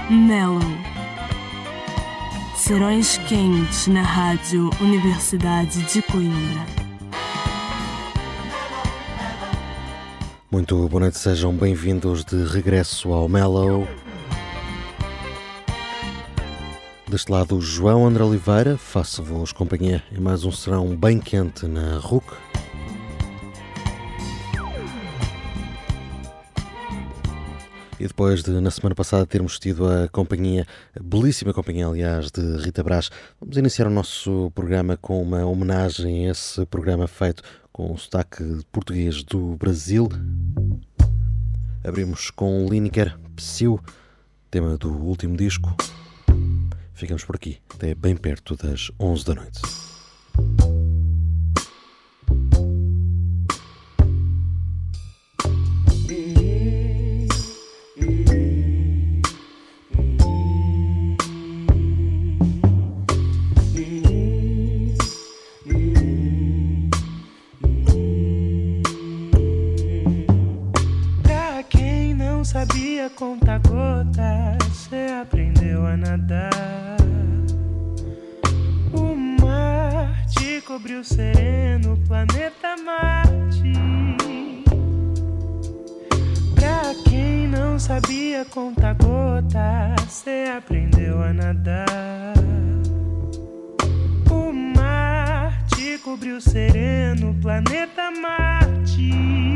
Mellow. Serões quentes na Rádio Universidade de Coimbra. Muito boa noite, sejam bem-vindos de regresso ao Mellow. Deste lado, João André Oliveira, faço-vos companhia em mais um serão bem quente na RUC. E depois de, na semana passada, termos tido a belíssima companhia, aliás, de Rita Brás, vamos iniciar o nosso programa com uma homenagem a esse programa feito com o sotaque português do Brasil. Abrimos com Lineker, Psyu, tema do último disco. Ficamos por aqui, até bem perto das 11 da noite. Sabia contar gotas, cê aprendeu a nadar. O mar te cobriu sereno, planeta Marte. Pra quem não sabia contar gotas, cê aprendeu a nadar. O mar te cobriu sereno, planeta Marte.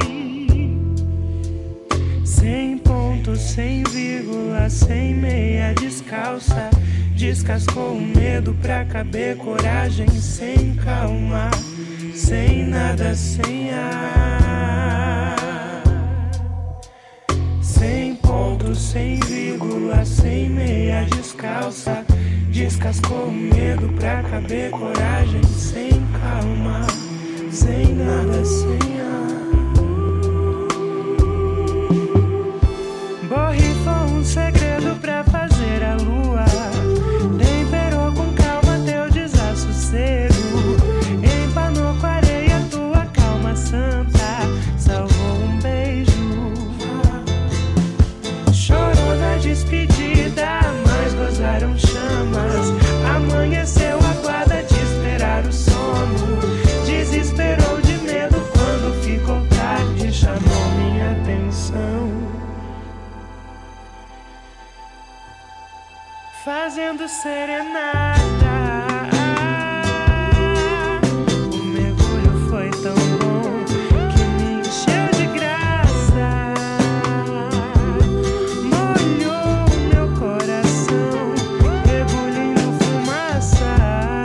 Sem ponto, sem vírgula, sem meia descalça. Descascou o medo pra caber coragem, sem calma, sem nada, sem ar. Sem ponto, sem vírgula, sem meia descalça. Descascou o medo pra caber coragem, sem calma, sem nada, sem ar. Borrifou um segredo pra fazer a lua. Temperou com calma teu desassossego. Empanou com areia tua calma santa. Salvou um beijo. Chorou na despedida, mas gozaram chamas. Amanheceu a guarda de esperar o sono. Desesperou de medo quando ficou tarde. Chamou minha atenção. Fazendo serenata. O mergulho foi tão bom que me encheu de graça. Molhou meu coração, rebulindo fumaça.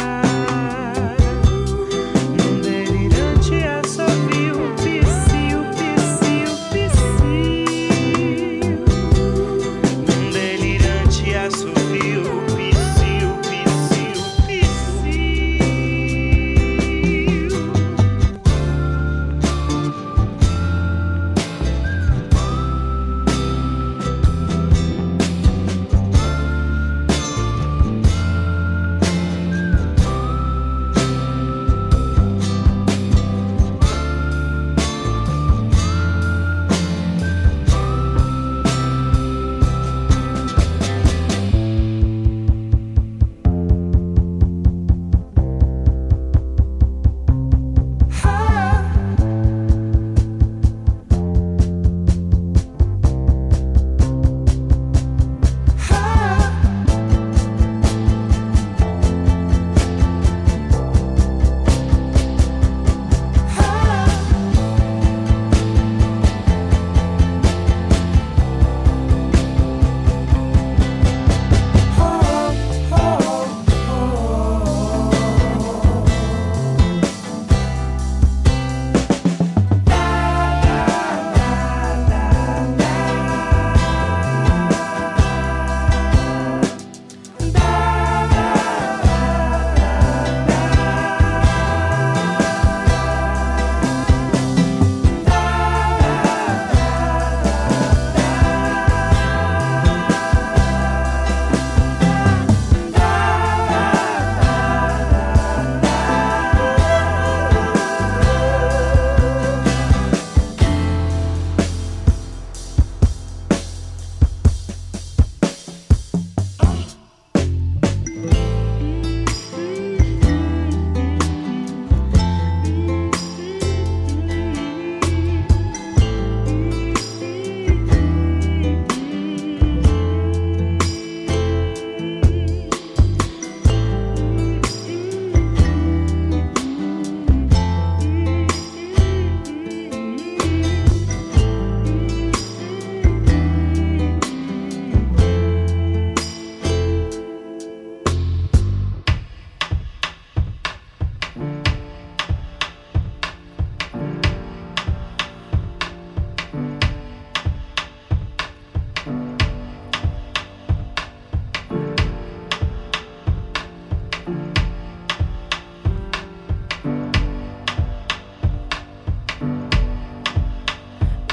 Num delirante assovio, psiu, psiu, psiu. Num delirante assovio.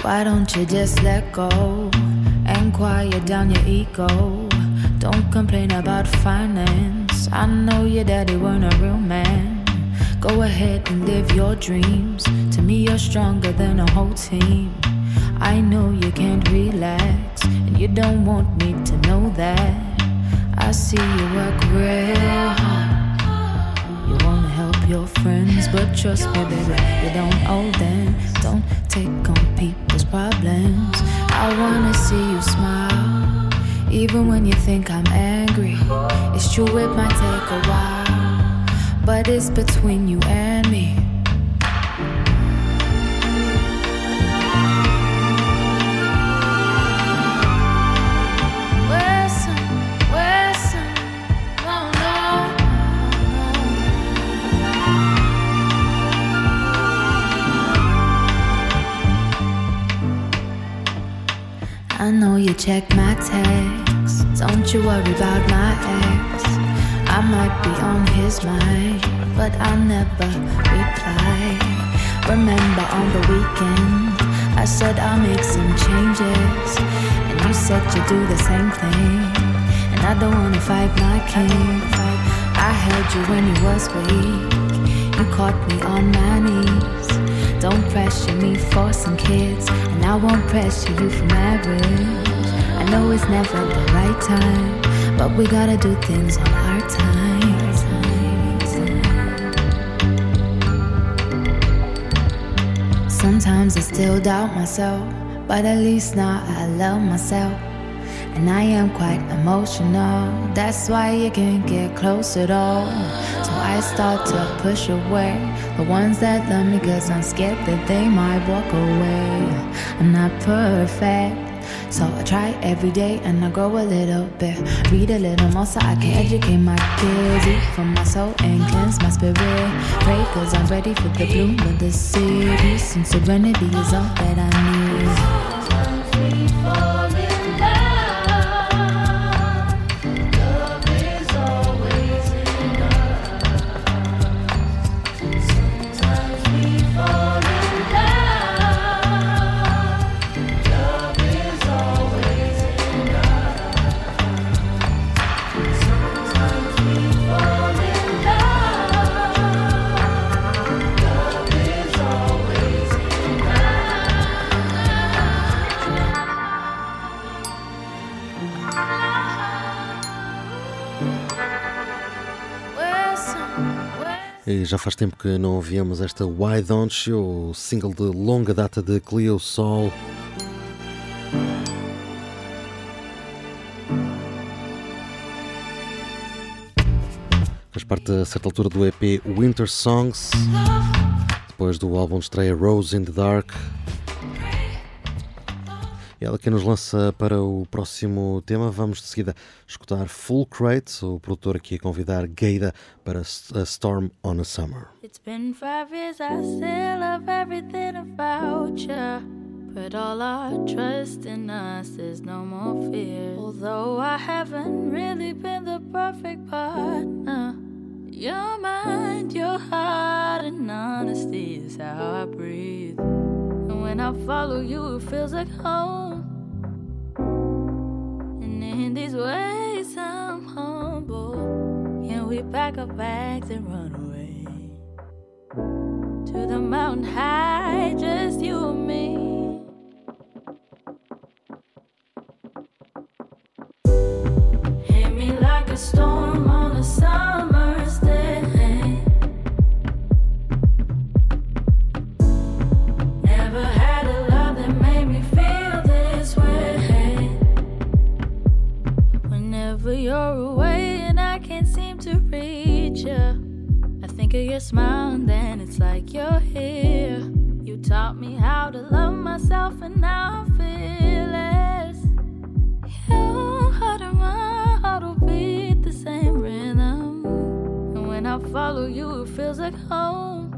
Why don't you just let go and quiet down your ego? Don't complain about finance. I know your daddy weren't a real man. Go ahead and live your dreams. To me you're stronger than a whole team. I know you can't relax, and you don't want me to know that. I see you work real hard. You wanna help your friends, but trust me baby, you don't owe them. Don't take on people's problems. I wanna see you smile, even when you think I'm angry. It's true it might take a while, but it's between you and me. I know you check my texts. Don't you worry about my ex. I might be on his mind, but I'll never reply. Remember on the weekend I said I'll make some changes, and you said you'd do the same thing. And I don't wanna fight my king. I held you when you was weak. You caught me on my knees. Don't pressure me for some kids, and I won't pressure you for marriage. I know it's never the right time, but we gotta do things on our time. Sometimes I still doubt myself, but at least now I love myself. And I am quite emotional, that's why you can't get close at all. So I start to push away the ones that love me, cause I'm scared that they might walk away. I'm not perfect, so I try every day and I grow a little bit. Read a little more so I can educate my kids. Eat from my soul and cleanse my spirit. Pray cause I'm ready for the bloom of the city. Peace and serenity is all that I need. Sometimes we fall in love. E já faz tempo que não ouvíamos esta Why Don't You, single de longa data de Cleo Sol. Faz parte a certa altura do EP Winter Songs, depois do álbum de estreia Rose in the Dark. E ela que nos lança para o próximo tema. Vamos de seguida escutar Full Crate, o produtor aqui a convidar Gaida para a Storm on a Summer. It's been 5 years, I still love everything about you. Put all our trust in us, there's no more fear. Although I haven't really been the perfect partner, your mind, your heart, and honesty is how I breathe. And when I follow you, it feels like home. And in these ways, I'm humble. Can we pack our bags and run away to the mountain high, just you and me? Hit me like a storm on a summer's day. Never had a love that made me feel this way. Whenever you're away and I can't seem to reach you, I think of your smile and then it's like you're here. You taught me how to love myself and now I feel it. Your heart and my heart will beat the same rhythm. And when I follow you, it feels like home.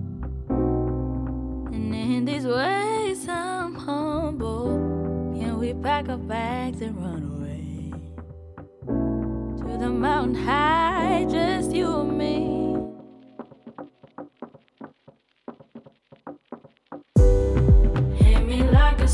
And in these ways, I'm humble. Can we pack our bags and run away to the mountain high, just you and me? Hit me like a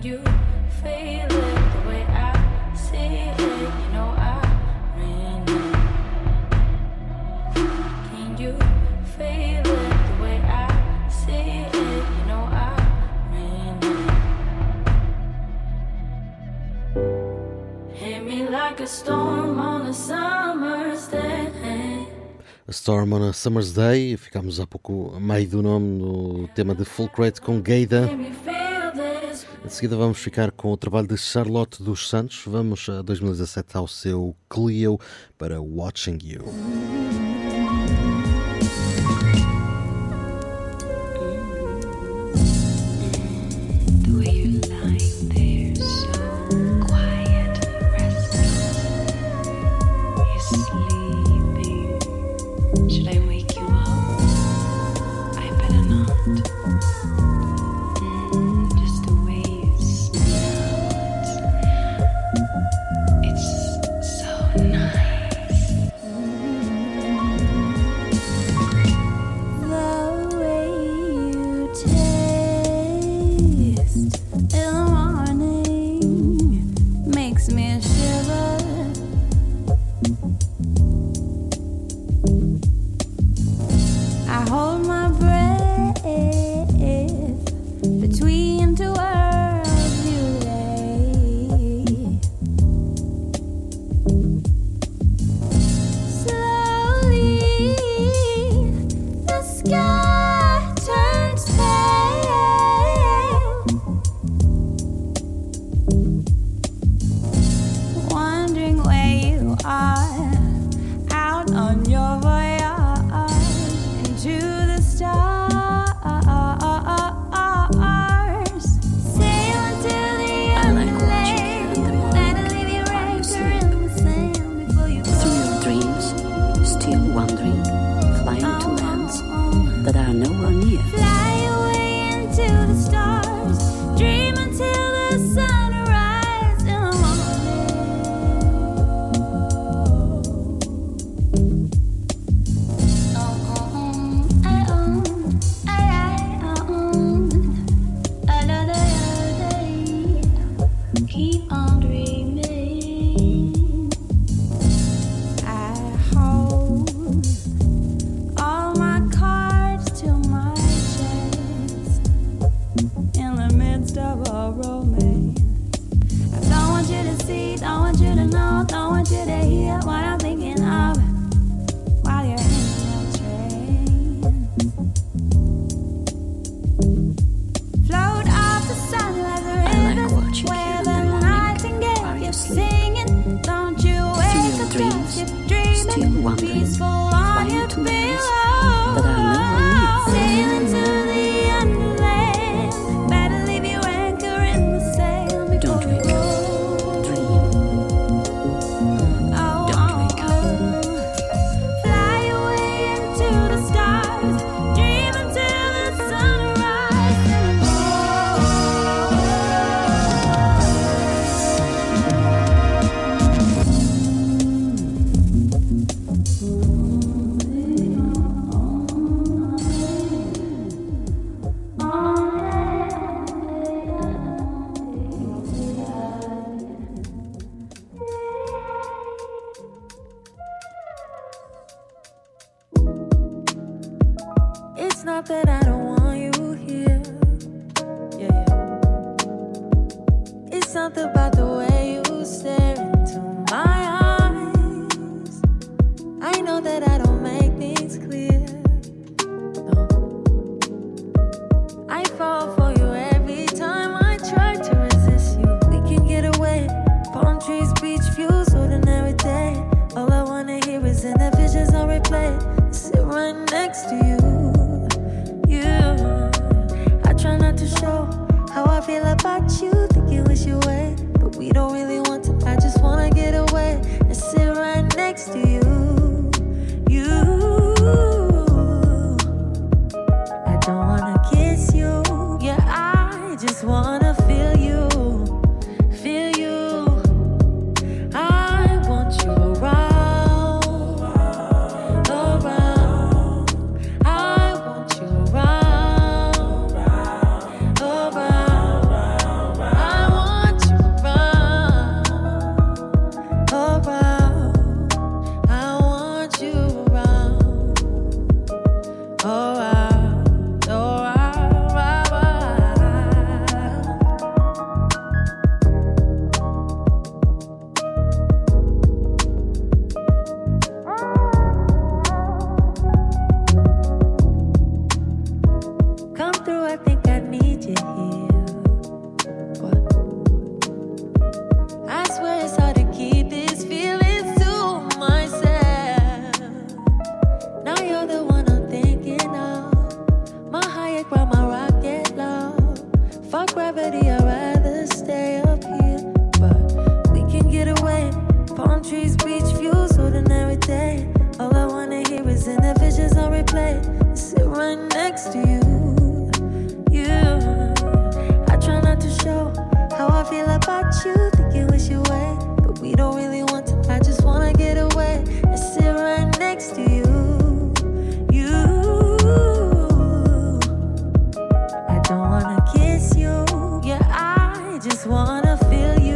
you feel it the way I see it? You know I ran it. Can you feel it the way I see it? You know I ran it. Hit me like a storm on a summer's day. A Storm on a Summer's Day. Ficámos há pouco a meio do nome no tema de Fulcrate com Gaida. Em seguida vamos ficar com o trabalho de Charlotte dos Santos. Vamos a 2017 ao seu Clio para Watching You. I think I need you here. What? I swear it's hard to keep these feelings to myself. Now you're the one I'm thinking of. My higher ground, my rocket low. Fuck gravity, I'd rather stay up here. But we can get away. Palm trees, beach views, ordinary day. All I wanna hear is in the visions on replay. I sit right next to you. I try not to show how I feel about you. Think you wish you away, but we don't really want to. I just wanna get away and sit right next to you. I don't wanna kiss you. Yeah, I just wanna feel you.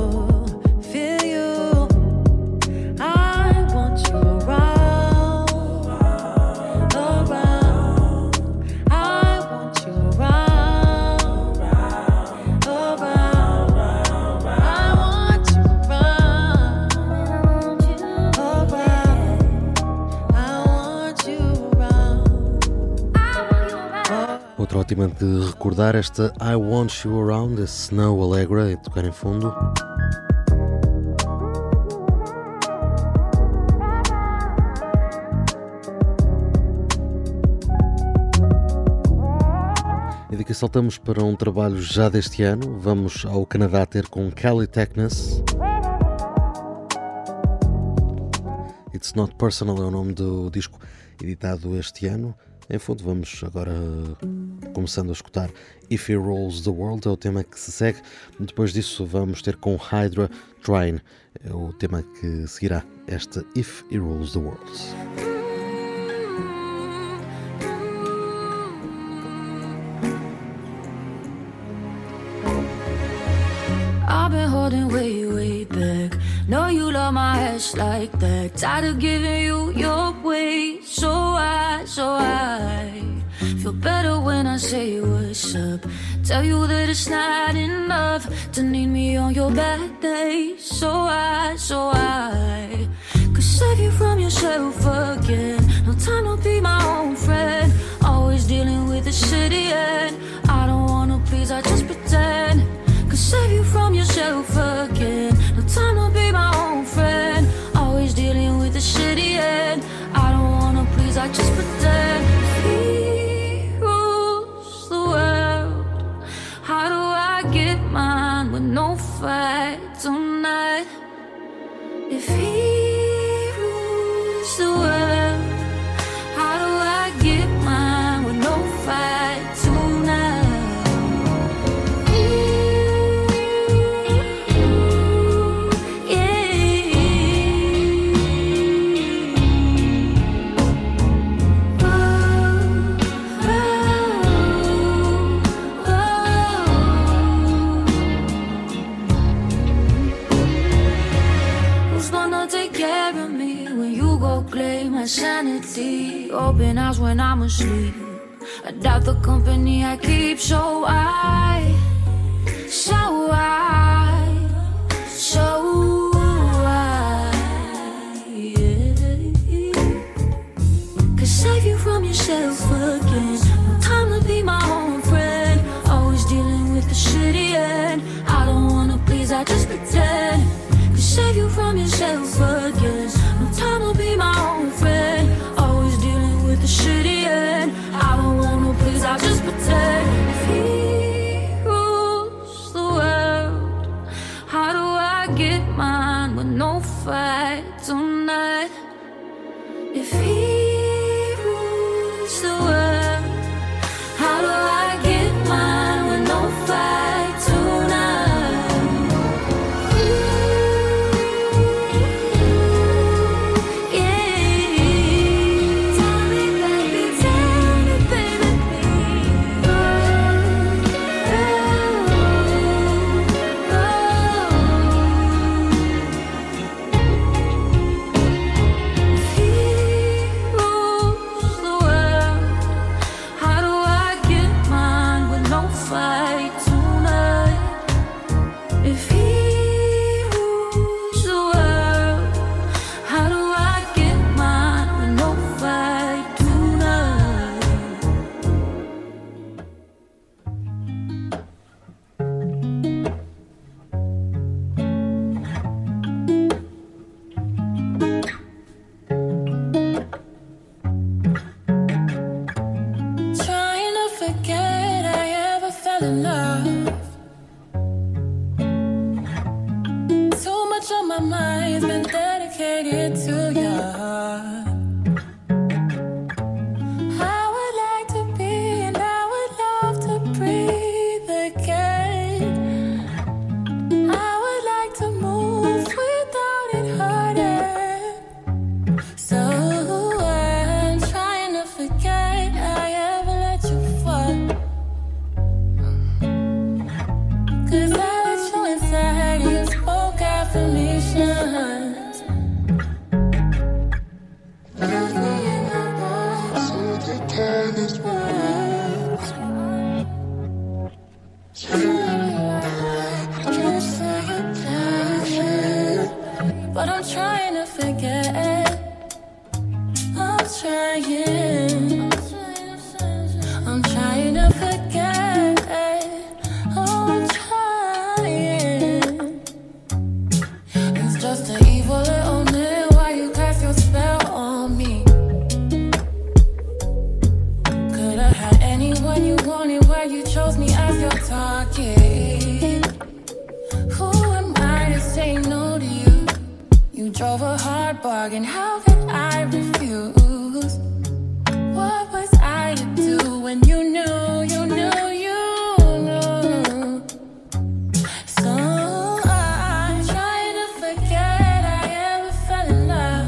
Outra ótima de recordar, esta I Want You Around, a Snow Allegra, a tocar em fundo. E daqui saltamos para um trabalho já deste ano. Vamos ao Canadá ter com Kelly Techness. It's Not Personal é o nome do disco editado este ano. Em fundo, vamos agora começando a escutar If He Rules the World, é o tema que se segue. Depois disso vamos ter com Hydra Trying, é o tema que seguirá esta If He Rules the World. I've been holding way back. Know you love my ass like that. Tired of giving you your way. So I feel better when I say what's up. Tell you that it's not enough to need me on your bad days. So I could save you from yourself again. No time to be my own friend. Always dealing with the shitty end. I don't wanna please, I just pretend. Could save you from yourself again. No time to be my own friend. Always dealing with the shitty end. I don't wanna please, I just pretend. He rules the world. How do I get mine with no fight tonight? If he rules the world, how do I get mine with no fight tonight? Sanity, open eyes when I'm asleep. I doubt the company I keep, so I could save you from yourself again. No time to be my own friend. Always dealing with the shitty end. I don't wanna please, I just pretend. Could save you from yourself again. No time to be my own friend. Always dealing with the shitty end. I don't wanna please, I just pretend. If he rules the world, forget I ever fell in love. Too much on my mind's been dedicated to you. I would like to be and I would love to breathe again. I would like to move without it hurting. So I'm trying to forget I ever let you fall. 'Cause I let you inside, you spoke affirmations. But I'm trying to forget. I'm trying. I'm trying to forget. Oh, I'm trying. It's just an evil little man. Why you cast your spell on me? Could have had anyone you wanted, why you chose me as your target? Who am I to say no to you? You drove a hard bargain, how could I refuse? What was I to do when you knew, you knew, you knew? So I'm trying to forget I ever fell in love.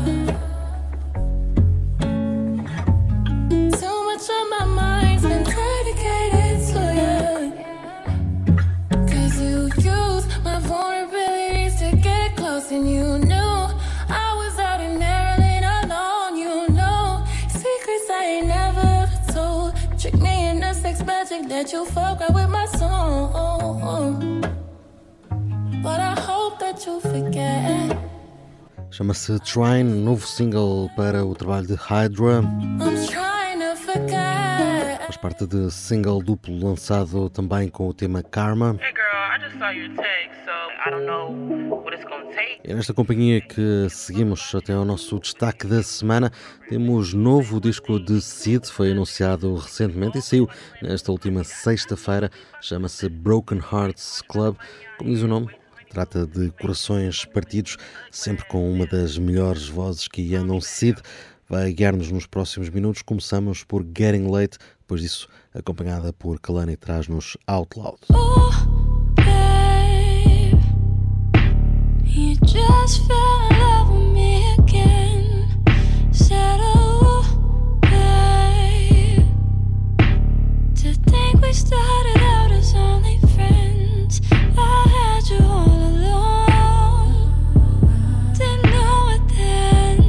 Too much on my mind's been dedicated to you. 'Cause you used my vulnerabilities to get close, and you knew I was out in Maryland alone. You know secrets I ain't never ever told. Trick me into sex magic that you fuck right with my soul. But I hope that you forget. Chama-se Trine, novo single para o trabalho de Hydra. I'm trying to forget. Faz parte de single duplo lançado também com o tema Karma. Hey girl, I just saw your text, so I don't know what it's gonna take. É nesta companhia que seguimos até ao nosso destaque da semana. Temos novo disco de Sid, foi anunciado recentemente e saiu nesta última sexta-feira. Chama-se Broken Hearts Club. Como diz o nome, trata de corações partidos, sempre com uma das melhores vozes que andam. Sid vai guiar-nos nos próximos minutos. Começamos por Getting Late, depois disso acompanhada por Kalani, traz-nos Out Loud. Oh, babe, you just fell in love with me again. Said, oh, babe, to think we started out as only friends. I had you all along, didn't know it then.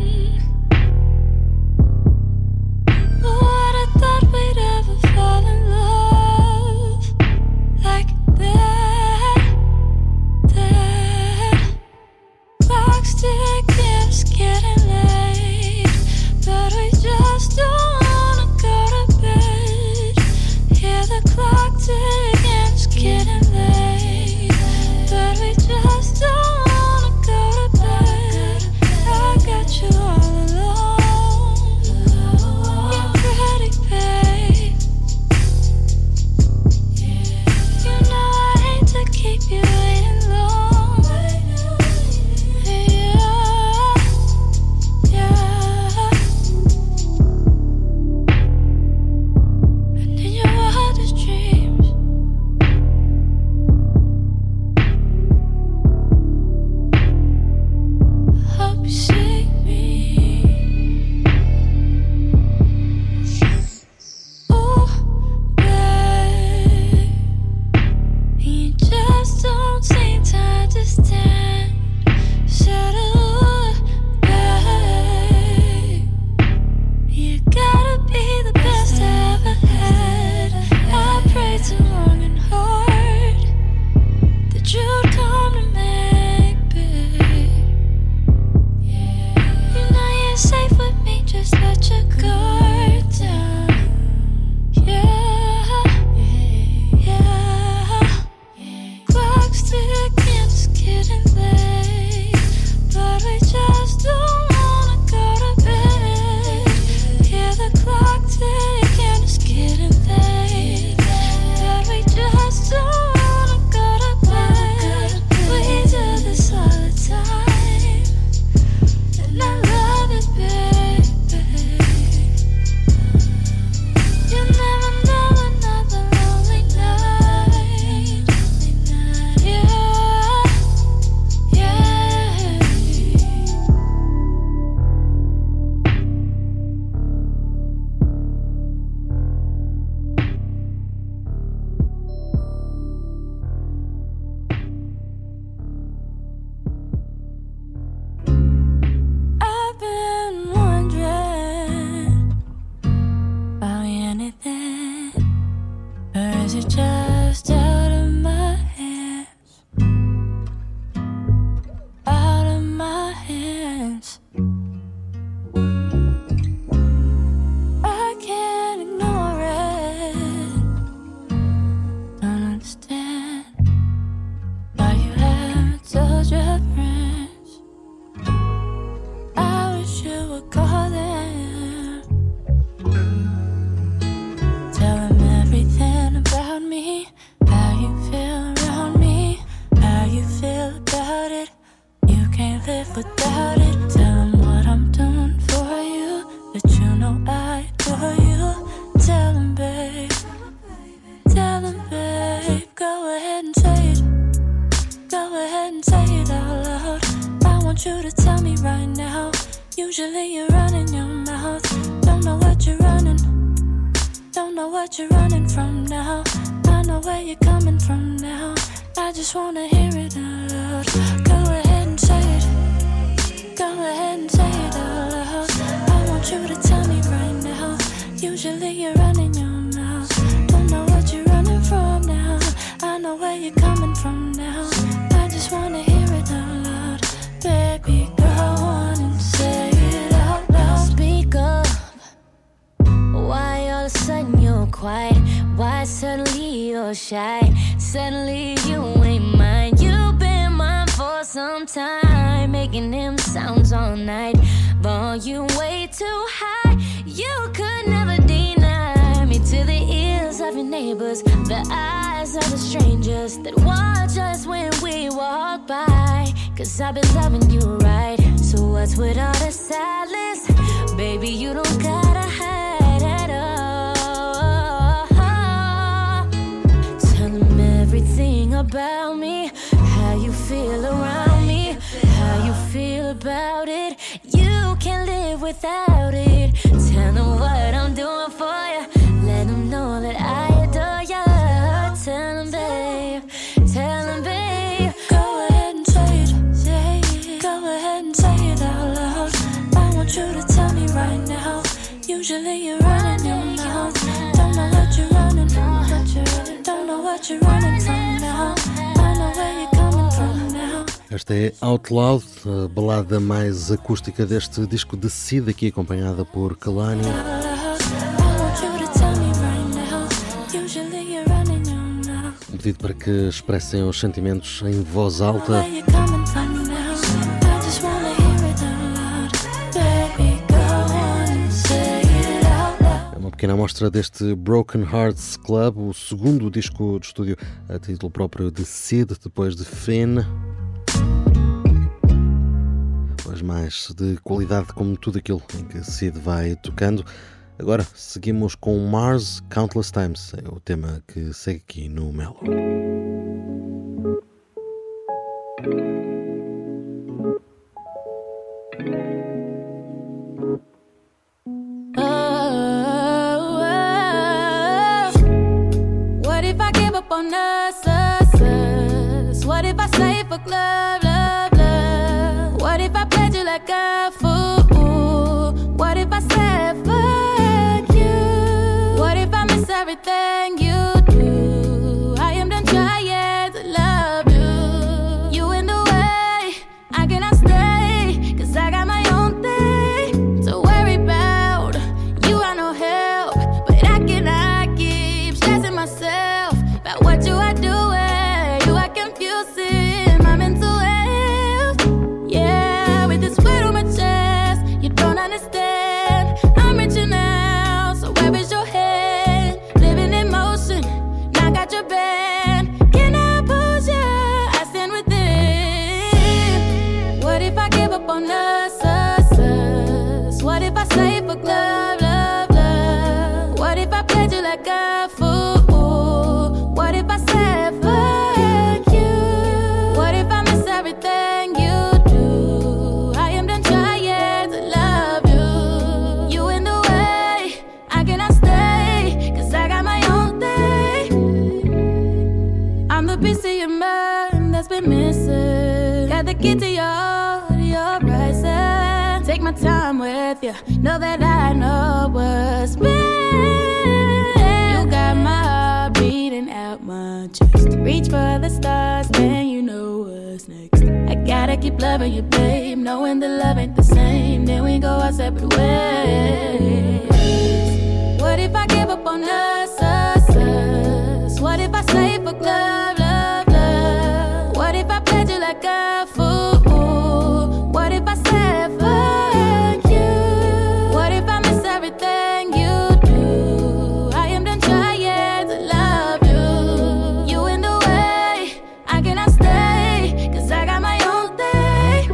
What I thought we'd ever fall in love like that. Clock's ticking, it's getting late, but we just don't wanna go to bed. Hear the clock ticking, it's getting late, but we just don't wanna go to bed. I got you all alone, you're pretty, babe. You know I hate to keep you waiting long. Yeah. And in your wildest dreams, is it just out of my hands? Out of my hands. I can't ignore it. Don't understand why you haven't told your friends. I wish you would call them. Tell them everything about me, how you feel around me, how you feel about it. You can't live without it. Tell them what I'm doing for you, that you know I adore you. Tell them, babe. Tell them, babe. Go ahead and say it. Go ahead and say it out loud. I want you to tell me right now. Usually you're running your mouth. Don't know what you're running. Don't know what you're running from now. I know where you're coming from now. I just wanna hear it out loud. Go ahead and say it. Go ahead and say it out loud. I want you to tell me right now. Usually you're running your mouth. Don't know what you're running from now. I know where you're coming from now. I just wanna hear it out loud. Baby, go on and say it out loud. Speak up. Why all of a sudden you're quiet? Why suddenly you're shy? Suddenly you ain't mine. You've been mine for some time, making them sounds all night. Volume way too high. You could never deny me to the ears of your neighbors, the eyes of the strangers that watch us when we walk by. Cause I've been loving you right. So what's with all the silence? Baby, you don't gotta hide at all. Tell them everything about me, how you feel around me, how you feel about it. You can't live without it. Tell them what I'm doing for you. Let them know that I adore you. Tell them, babe. Tell them, babe. Go ahead and say it. Say it. Go ahead and say it out loud. I want you to tell me right now. Usually you're running your mouth. Don't know what you're running from. Don't know what you're running from now. I know where you're coming from now. Esta é Out Loud, a balada mais acústica deste disco de Sid, aqui acompanhada por Kehlani. Um pedido para que expressem os sentimentos em voz alta. É uma pequena amostra deste Broken Hearts Club, o segundo disco de estúdio a título próprio de Sid, depois de Finn. Mas mais de qualidade, como tudo aquilo em que Sid vai tocando. Agora seguimos com Mars Countless Times, é o tema que segue aqui no Melo. What if I give up on us? What if I slave for love, love, love? What if I played you like a fool? What if I said fuck you? What if I miss everything you do? I am done trying to love you. You in the way, I cannot stay, cause I got my own thing to worry about. You are no help, but I cannot keep stressing myself about what you are doing. You are confusing my mental health. Yeah, with this weight on my chest, you don't understand. I'm reaching out, so where is your head? Living in motion, now got your band. Can I push you? I stand within. What if I give up on us, us, us? What if I slave for love, love, love? What if I played you like a fool? What if I said fuck you? What if I miss everything you do? I am done trying to love you. You in the way, I cannot stay, cause I got my own thing. I'm the piece of your mind that's been missing. Got the key to your rising. Take my time with you, know that I know what's best. You got my heart beating chest. Reach for the stars, then you know what's next. I gotta keep loving you, babe, knowing the love ain't the same. Then we go our separate ways. What if I give up on us, us, us? What if I say fuck love, love, love? What if I played you like a fool? What if I said fuck you? What if I miss everything you do? I am done trying to love you. You in the way, I cannot stay, 'cause I got my own thing.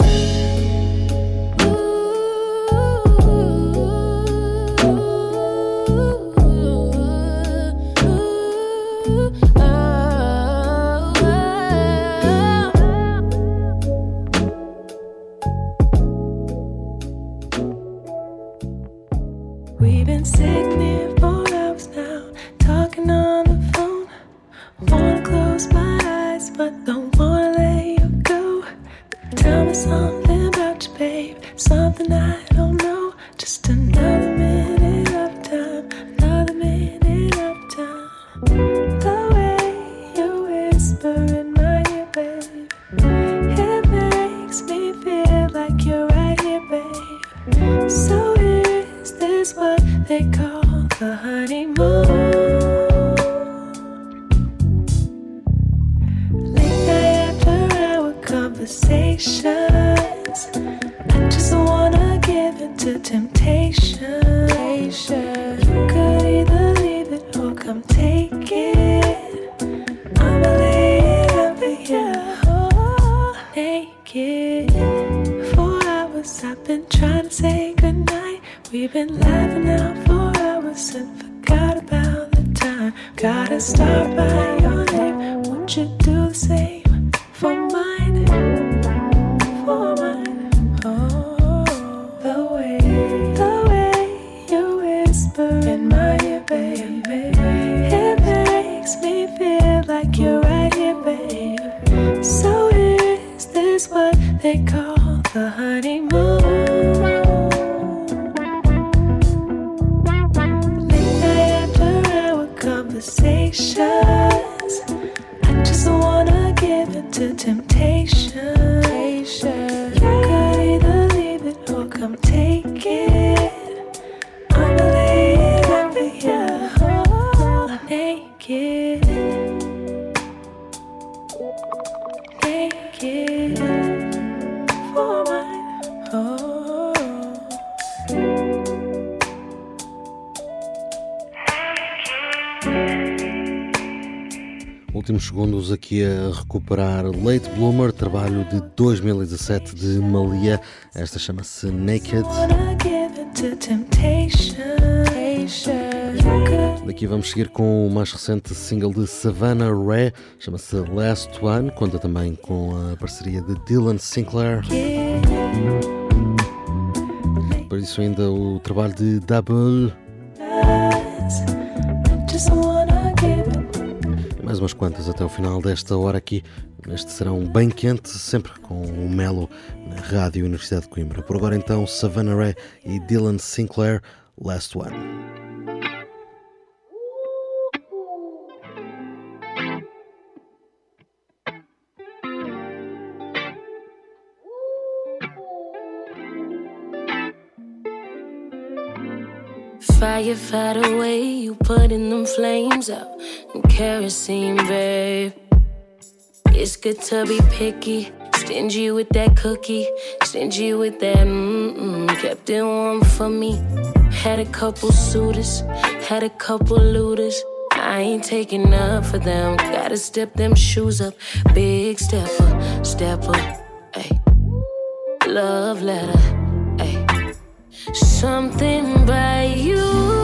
We've been sitting here for hours now, talking on the phone. Wanna close my eyes, but don't wanna let you go. Tell me something about you, babe, something I don't know. Just another minute of time, another minute of time. The way you whisper in my ear, babe, it makes me feel like you're right here, babe. So is this what they call the honeymoon? Late night after our conversations, I just wanna give in to temptation. You could either leave it or come take it. I'ma lay it up for you, naked. For hours I've been trying to say goodnight. We've been laughing out for hours and forgot about the time. Gotta start by your name. Won't you do the same for mine? For mine. Oh, the way you whisper in my ear, baby, it makes me feel like you're right here, babe. So is this what they call the honeymoon? Conversations, I just wanna give in to temptation. You could either leave it or come take it. I'ma lay it up for you, naked, naked, for mine. Oh. Últimos segundos aqui a recuperar Late Bloomer, trabalho de 2017 de Malia. Esta chama-se Naked. Daqui vamos seguir com o mais recente single de Savannah Ré, chama-se Last One, conta também com a parceria de Dylan Sinclair. Por isso ainda o trabalho de Double. Mais umas quantas até o final desta hora aqui, neste serão bem quente, sempre com o Melo na Rádio Universidade de Coimbra. Por agora então, Savannah Ré e Dylan Sinclair, Last One. Firefighter way, you putting them flames out and kerosene, babe. It's good to be picky, stingy with that cookie, stingy with that kept it warm for me. Had a couple suitors, had a couple looters. I ain't taking up for them, gotta step them shoes up. Big stepper, ayy. Love letter, ayy. Something by you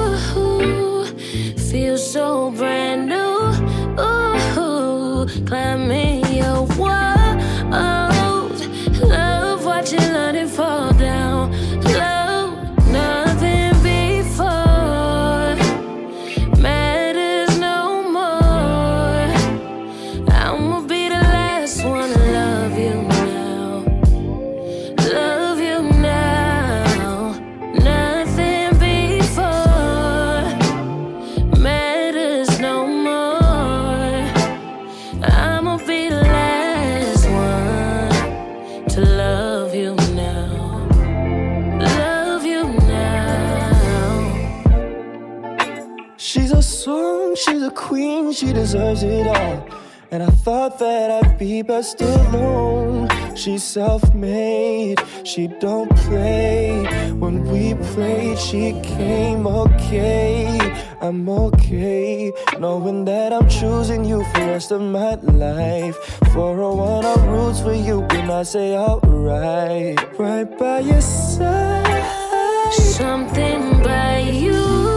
feels so brand new. Ooh, climbing your walls, love watching London fall down. Love, nothing before matters no more. I'ma be the last one to love you now. Love you now. Nothing before matters no more. she deserves it all. And I thought that I'd be best alone. She's self-made, she don't play. When we played, she came okay. I'm okay, knowing that I'm choosing you for the rest of my life. 401, I'll roots for you when I say alright. Right by your side. Something by you,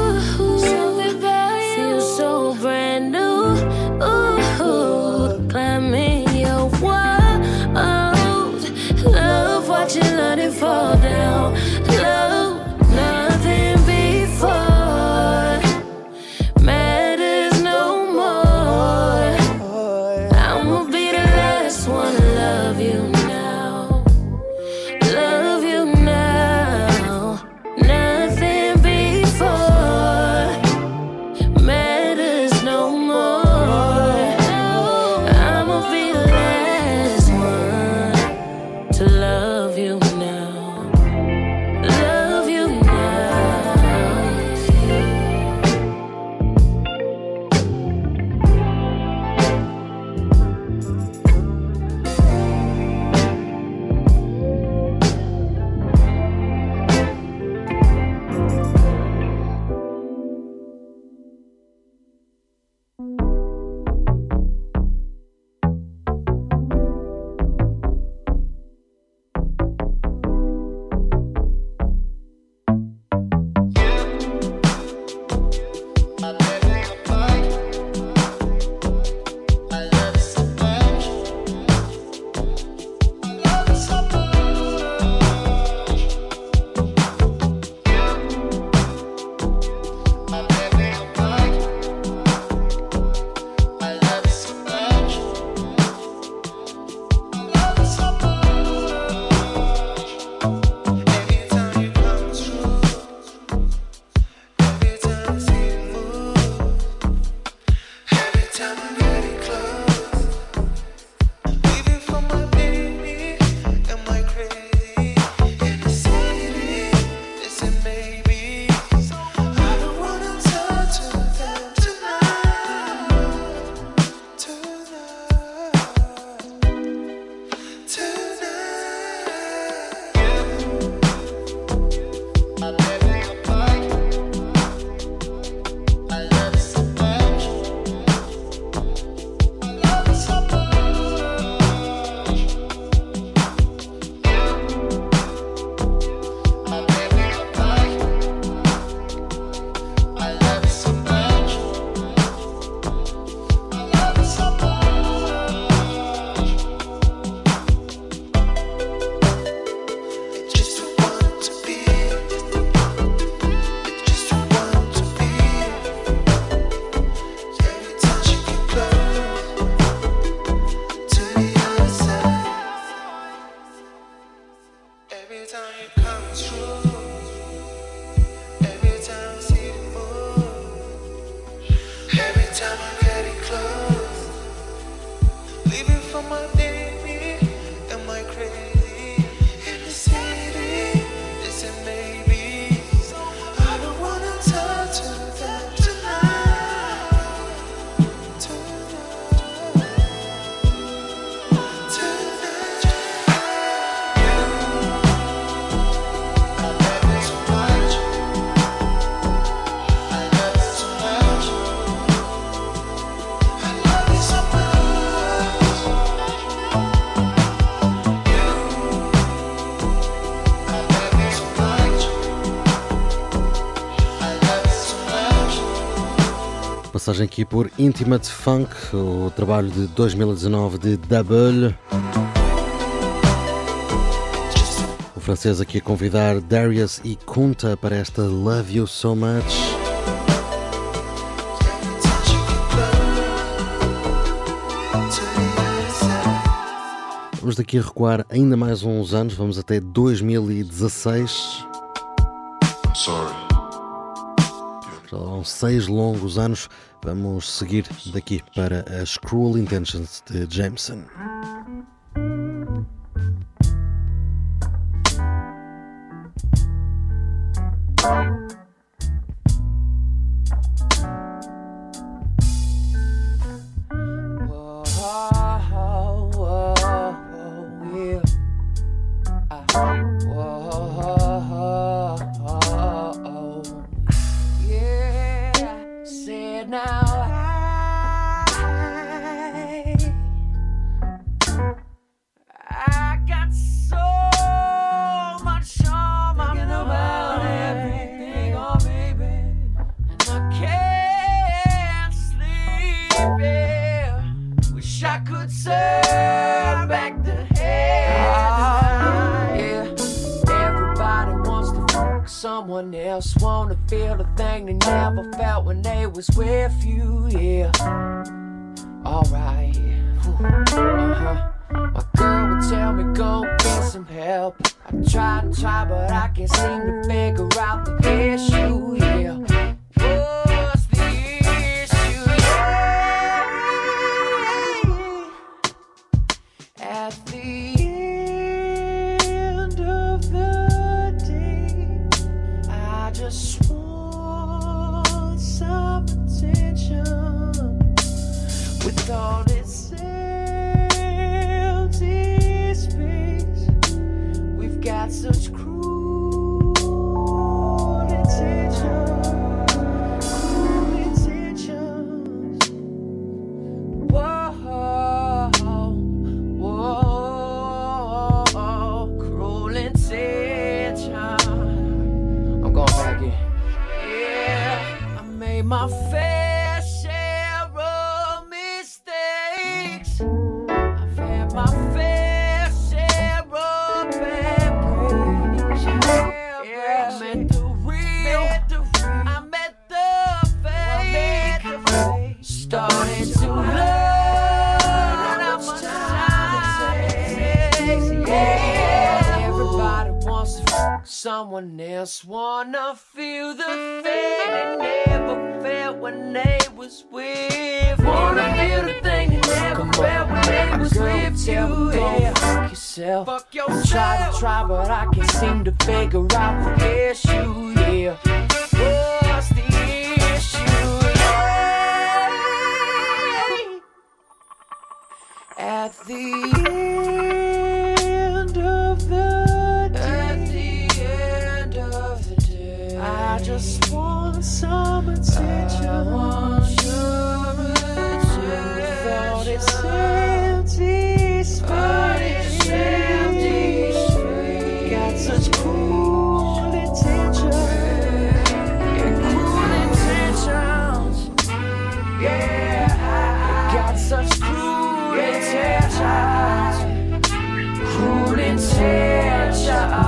feels so brand new. Ooh, climbing your walls, love watching London fall down. Love, nothing before matters no more. I'ma be the last one to love you now. Love you now. Nothing before matters no more. I'ma be the last one to love you now. Love you now. Passagem aqui por Intimate Funk, o trabalho de 2019 de Double. O francês aqui a convidar Darius e Kunta para esta Love You So Much. Vamos daqui a recuar ainda mais uns anos, vamos até 2016. Já vão 6 longos anos. Vamos seguir daqui para as Cruel Intentions de Jameson. else wanna feel the thing they never felt when they was with you, yeah. Alright, my girl would tell me go get some help. I try and try, but I can't seem to figure out the issue, yeah. What's the issue, yeah? At the end of the day, I just want some attention. With all this empty space, we've got such cruel intentions. Whoa, whoa, cruel intentions. I'm going back in. Yeah, I made my fair share of mistakes. I've had my fair share of bad breaks. Yeah, I met the real, I met the fake. Started to learn how much time it takes. Yeah, everybody wants to fuck someone else, wanna feel the thing they never felt when they was with. Wanna feel the thing they never felt when they was with you. Yeah, fuck yourself. Fuck yourself. Try, but I can't seem to figure out the issue. Yeah, what's the issue? Yeah. At the end of the day, I just want some attention. I want your attention. With all this empty space, got such cruel intentions. Yeah, cruel intentions. Yeah, got such cruel intentions. Cruel intentions.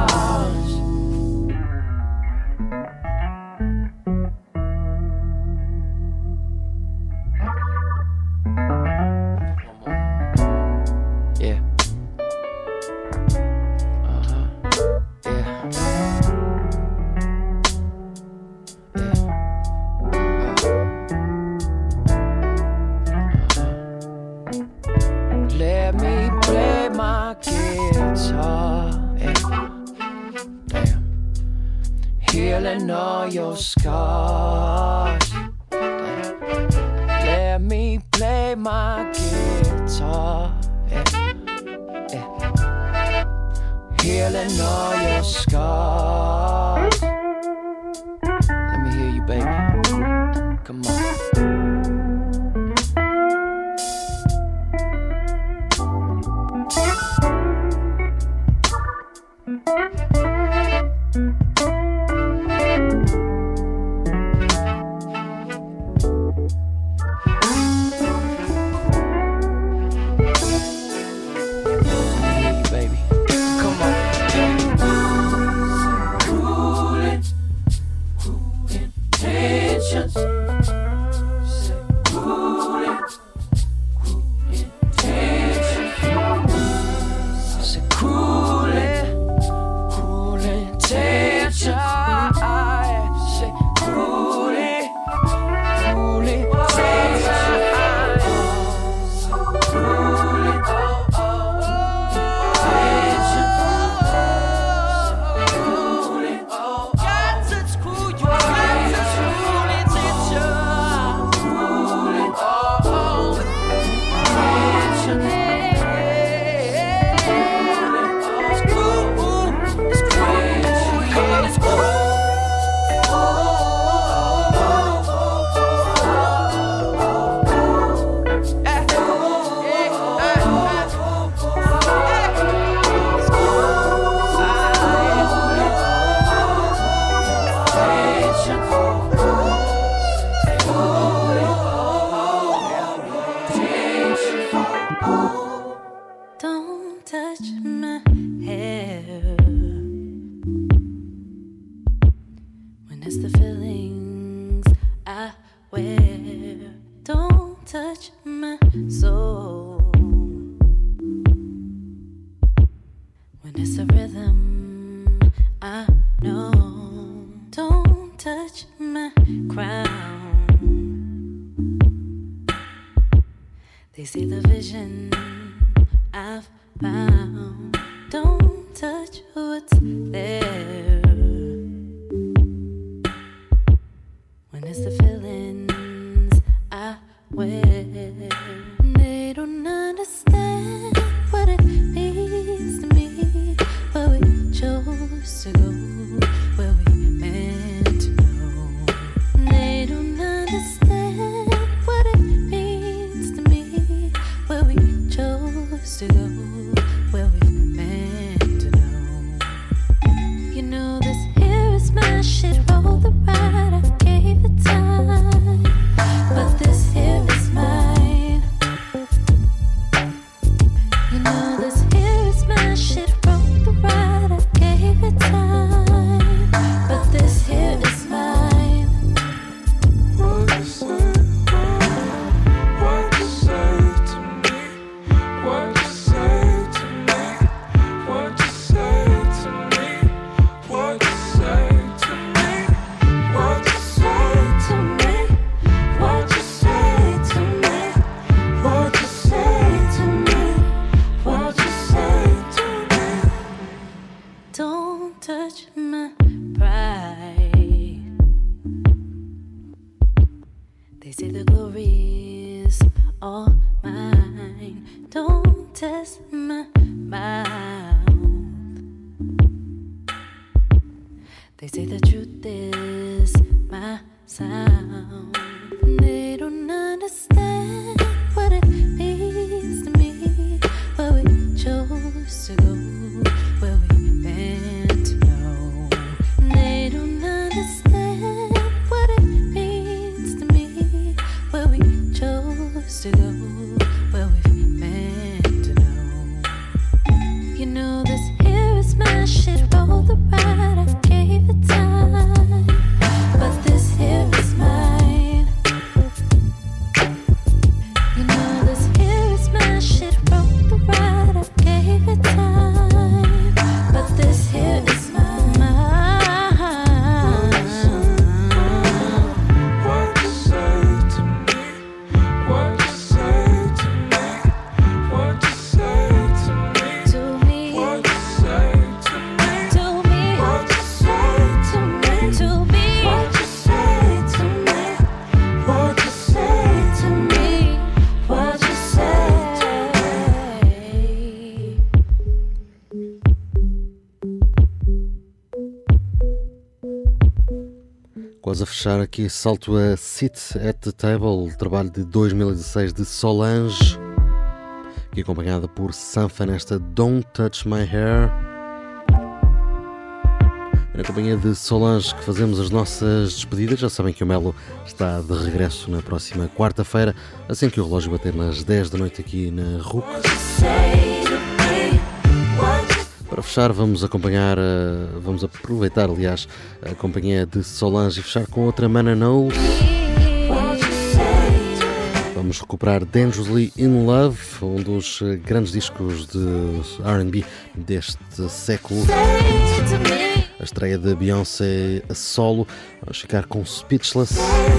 Let me play my guitar, damn, healing all your scars. Damn. Let me play my guitar, healing all your scars. Let me hear you, baby. Come on. touch my soul. When it's a rhythm, I know. Don't touch my crown. They see the vision I've found. Don't touch what's there. When it's the feelings I wear, they don't understand what it means to me. Where we chose to go, where we meant to know. They don't understand what it means to me. Where we chose to go, where we meant to know. You know this here is my shit. Roll the ride, I gave it time, but this here is mine. You know this here is my shit. Roll the ride, I gave it time, but this here is mine. What you say? What you say to me? What you say to me? What you say to me? What you say to me? What you say to me? What you say to me? What you say to me? What you say to me? Don't touch my pride. They say the glory is all mine. Don't test my mouth. They say the truth is my sound. They don't understand what it means to me. Where we chose to go, where we meant to know. They don't understand what it means to me. Where we chose to go, where we meant to know. You know this here is my shit. Roll the ride, I gave it time, but this here is mine. You know this here is my shit. Roll the ride, I gave it time, but this here is mine. What you say to me? What you say to me? What you say to me? To me, What you say to me? to me, What you say to me? to me, What you say to me? What you say to me? what you say. Quase a fechar aqui, salto a Sit at the Table, trabalho de 2016 de Solange, aqui acompanhada por Sanfa nesta Don't Touch My Hair. Na companhia de Solange que fazemos as nossas despedidas. Já sabem que o Melo está de regresso na próxima quarta-feira, assim que o relógio bater nas 10 da noite aqui na RUC. Para fechar, vamos aproveitar, aliás, a companhia de Solange e fechar com outra Mana Knowles. Vamos recuperar Dangerously in Love, um dos grandes discos de R&B deste século. A estreia de Beyoncé a solo. Vamos ficar com Speechless.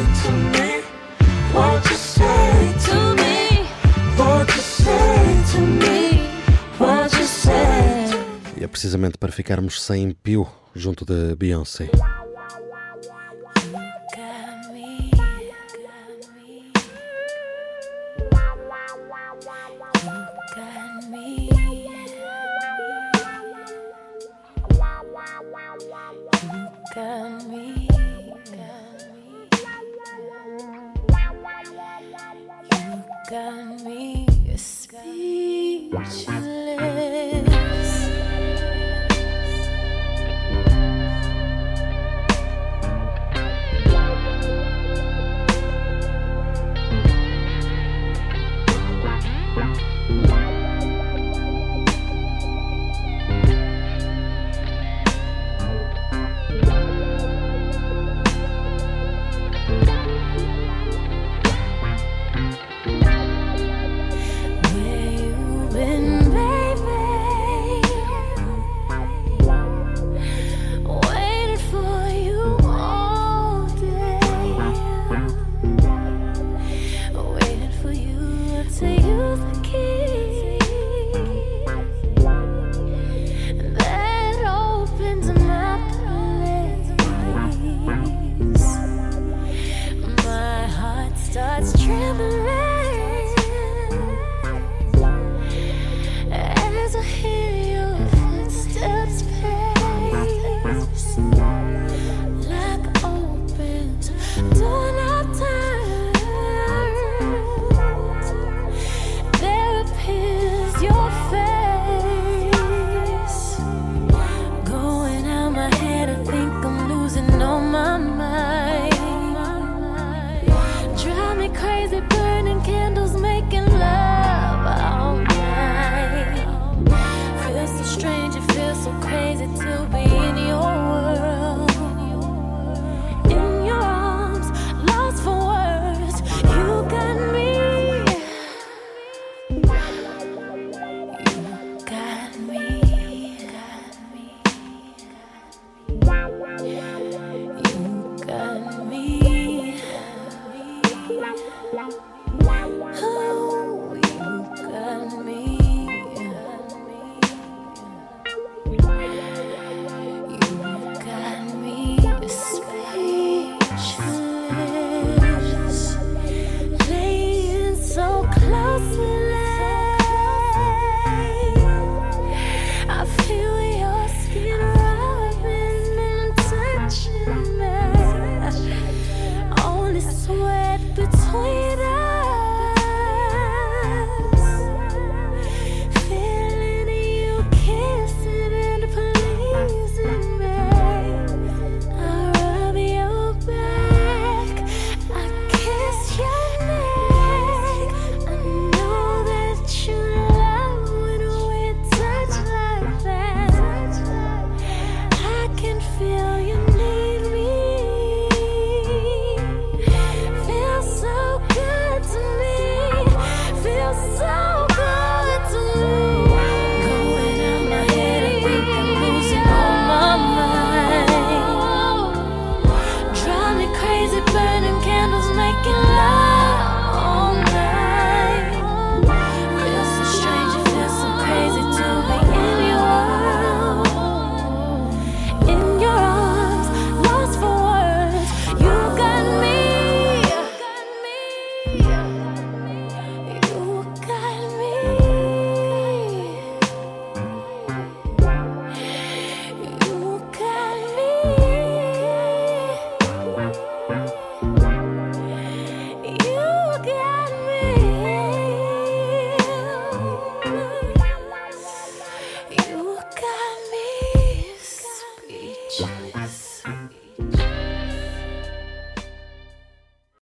E é precisamente para ficarmos sem pio junto da Beyoncé. Got me speechless. listen.